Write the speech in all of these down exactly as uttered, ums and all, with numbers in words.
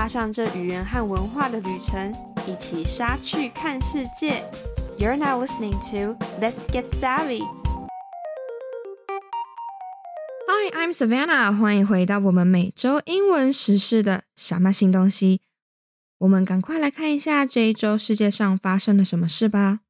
上這語言和文化的旅程，一起莎去看世界。You're now listening to Let's Get Savvy. Hi, I'm Savannah. 歡迎回到我們每周英文時事的小麥新東西。我們趕快來看一下這一周世界上發生了什麼事吧。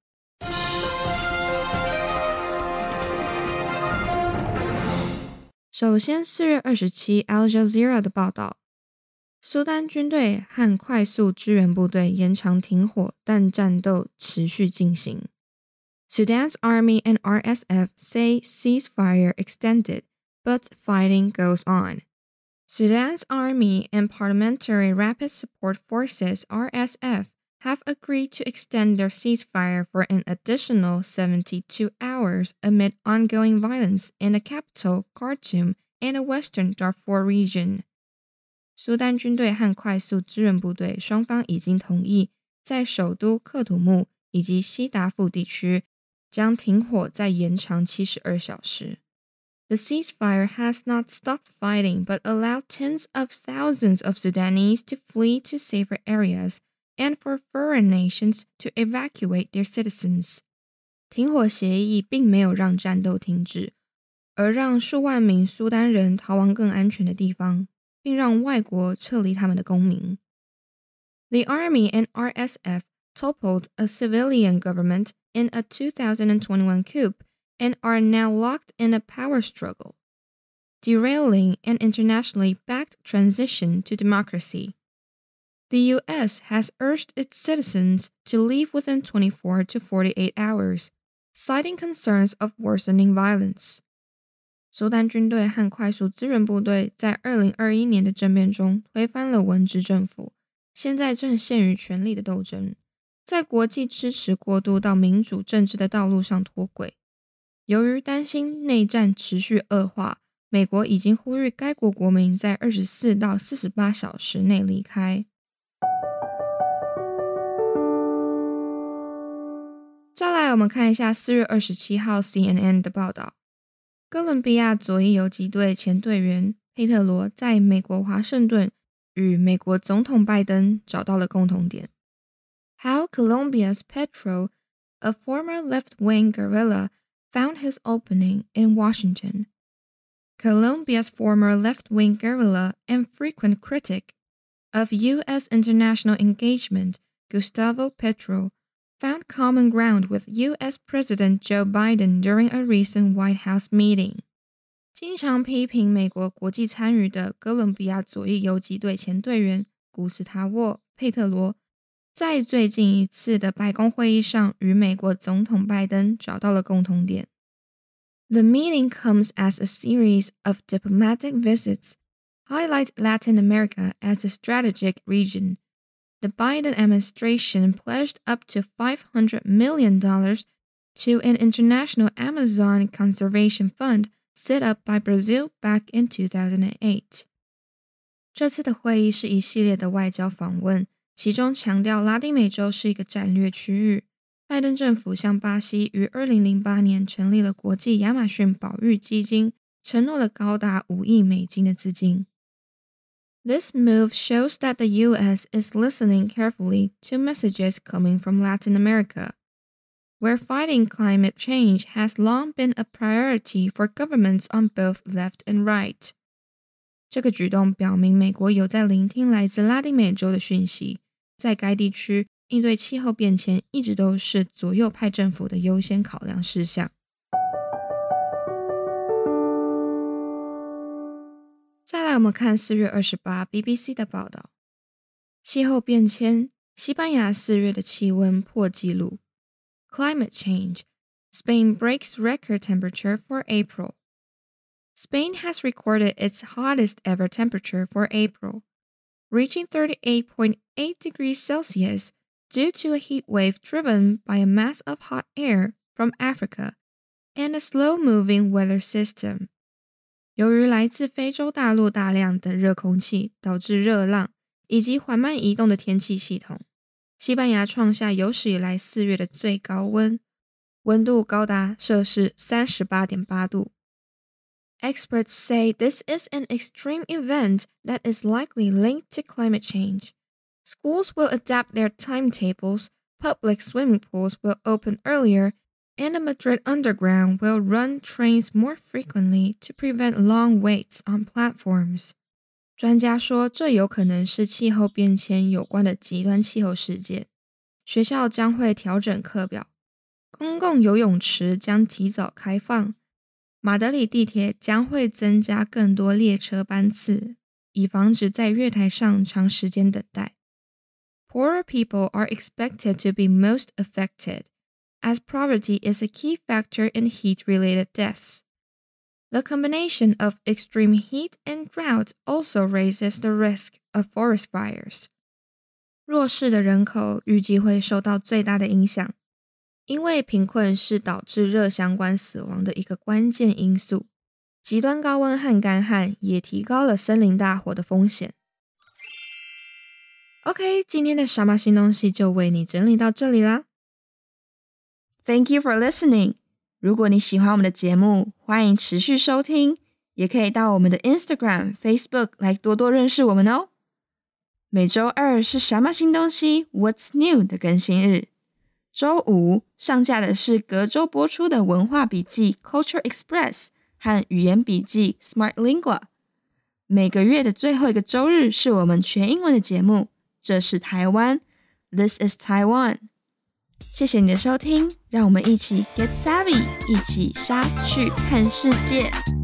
首先，四月二十七 Al Jazeera 的報道，蘇丹軍隊和快速支援部隊延長停火，但戰鬥持續進行。Sudan's army and R S F say ceasefire extended, but fighting goes on. Sudan's army and Parliamentary Rapid Support Forces R S F have agreed to extend their ceasefire for an additional seventy-two hours amid ongoing violence in the capital, Khartoum, and the western Darfur region. 蘇丹軍隊和快速支援部隊雙方已經同意，在首都克土木以及西達富地區將停火再延長七十二小時。The ceasefire has not stopped fighting, but allowed tens of thousands of Sudanese to flee to safer areas and for foreign nations to evacuate their citizens. 停火協議並沒有讓戰鬥停止，而讓數萬名蘇丹人逃往更安全的地方，並讓外國撤離他們的公民。The army and R S F toppled a civilian government in a two thousand twenty-one coup and are now locked in a power struggle, derailing an internationally backed transition to democracy. The U S has urged its citizens to leave within twenty-four to forty-eight hours, citing concerns of worsening violence. 蘇丹軍隊和快速支援部隊在二零二一年的政變中推翻了文職政府，現在正陷於權力的鬥爭，在國際支持過渡到民主政治的道路上脫軌。由於擔心內戰持續惡化，美國已經呼籲該國國民在二十四到四十八小時內離開。再來，我們看一下四月二十七號 C N N 的報道。哥倫比亞左翼游擊隊前隊員佩特羅在美國華盛頓與美國總統拜登找到了共同點。How Colombia's Petro, a former left-wing guerrilla, found his opening in Washington. Colombia's former left-wing guerrilla and frequent critic of U S international engagement, Gustavo Petro, found common ground with U S President Joe Biden during a recent White House meeting. 經常批評美國國際參與的哥倫比亞左翼游擊隊前隊員古斯塔沃·佩特羅，在最近一次的白宮會議上與美國總統拜登找到了共同點。The meeting comes as a series of diplomatic visits highlight Latin America as a strategic region.The Biden administration pledged up to five hundred million dollars to an international Amazon conservation fund set up by Brazil back in two thousand eight. 這次的會議是一系列的外交訪問，其中強調拉丁美洲是一個戰略區域。拜登政府向巴西於二零零八年成立了國際亞馬遜保育基金，承諾了高達五億美金的資金。This move shows that the U S is listening carefully to messages coming from Latin America, where fighting climate change has long been a priority for governments on both left and right. 這個舉動表明美國有在聆聽來自拉丁美洲的訊息，在該地區應對氣候變遷一直都是左右派政府的優先考量事項。再來，我們看四月二十八 B B C 的報道。氣候變遷，西班牙四月的氣溫破紀錄。Climate change, Spain breaks record temperature for April. Spain has recorded its hottest ever temperature for April, reaching thirty-eight point eight degrees Celsius due to a heat wave driven by a mass of hot air from Africa and a slow-moving weather system.由於來自非洲大陸大量的熱空氣導致熱浪以及緩慢移動的天氣系統，西班牙創下有史以來四月的最高溫，溫度高達攝氏三十八點八度。 Experts say this is an extreme event that is likely linked to climate change. Schools will adapt their timetables, public swimming pools will open earlier, and the Madrid Underground will run trains more frequently to prevent long waits on platforms. 專家說，這有可能是氣候變遷有關的極端氣候事件。學校將會調整課表，公共游泳池將提早開放，馬德里地鐵將會增加更多列車班次，以防止在月台上長時間等待。Poorer people are expected to be most affected, as poverty is a key factor in heat-related deaths. The combination of extreme heat and drought also raises the risk of forest fires. 弱勢的人口預計會受到最大的影響，因為貧困是導致熱相關死亡的一個關鍵因素。極端高溫和乾旱也提高了森林大火的風險。OK， 今天的什麼新東西就為你整理到這裡啦。Thank you for listening. 如果你喜歡我們的節目，歡迎持續收聽，也可以到我們的 Instagram、Facebook 來多多認識我們哦。每週二是什麼新東西 What's New 的更新日，週五上架的是隔週播出的文化筆記 Culture Express 和語言筆記 Smart Lingua。每個月的最後一個週日是我們全英文的節目，這是台灣 This is Taiwan。謝謝你的收聽，讓我們一起 get savvy， 一起莎去看世界。